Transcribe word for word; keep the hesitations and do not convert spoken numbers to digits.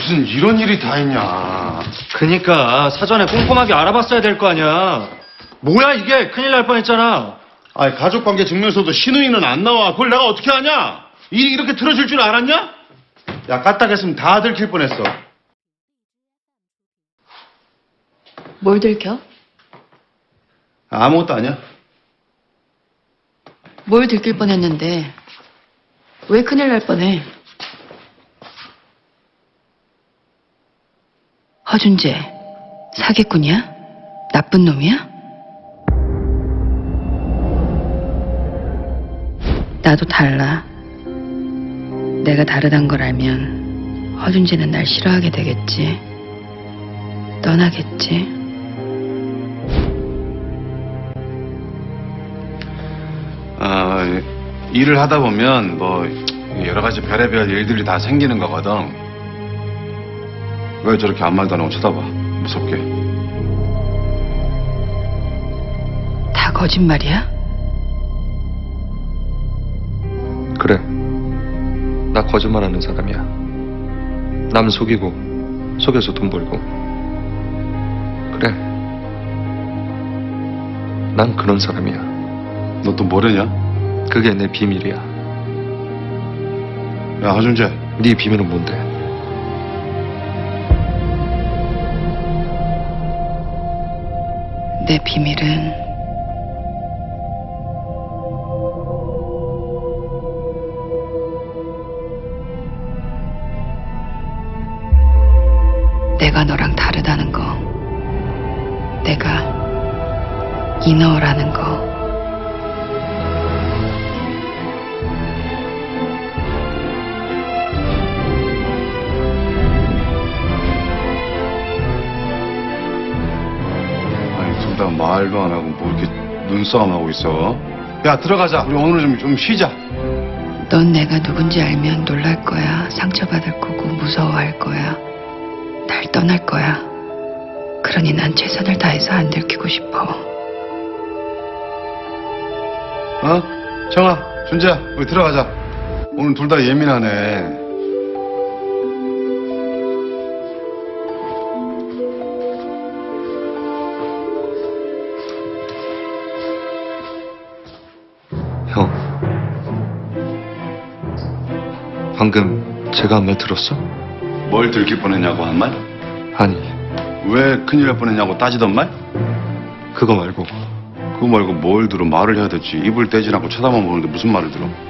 무슨 이런 일이 다 있냐. 그니까 사전에 꼼꼼하게 알아봤어야 될 거 아니야. 뭐야 이게, 큰일 날 뻔했잖아. 아니, 가족관계 증명서도 신우이는 안 나와. 그걸 내가 어떻게 하냐? 일이 이렇게 틀어질 줄 알았냐? 야, 까딱했으면 다 들킬 뻔했어. 뭘 들켜? 아무것도 아니야. 뭘 들킬 뻔했는데 왜 큰일 날 뻔해? 허준재 사기꾼이야? 나쁜 놈이야? 나도 달라. 내가 다르단 걸 알면 허준재는 날 싫어하게 되겠지. 떠나겠지. 어, 일을 하다 보면 뭐 여러 가지 별의별 일들이 다 생기는 거거든. 왜 저렇게 아무 말도 안 하고 쳐다봐? 무섭게. 다 거짓말이야? 그래. 나 거짓말하는 사람이야. 남 속이고 속여서 돈 벌고. 그래. 난 그런 사람이야. 너 또 뭐래냐? 그게 내 비밀이야. 야, 허준재. 네 비밀은 뭔데? 내 비밀은 내가 너랑 다르다는 거. 내가 이너라는 거. 아니, 둘 다 말도 안 하고 뭐 이렇게 눈싸움 하고 있어. 야, 들어가자. 우리 오늘 좀, 좀 쉬자. 넌 내가 누군지 알면 놀랄 거야. 상처받을 거고 무서워할 거야. 날 떠날 거야. 그러니 난 최선을 다해서 안 들키고 싶어. 어? 정아, 준재야, 우리 들어가자. 오늘 둘 다 예민하네. 형. 방금 제가 한 말 들었어? 뭘 들킬 뻔했냐고 한 말? 아니, 왜 큰일 날 뻔했냐고 따지던 말? 그거 말고 그거 말고 뭘 들어. 말을 해야 되지. 입을 떼지 않고 쳐다만 보는데 무슨 말을 들어?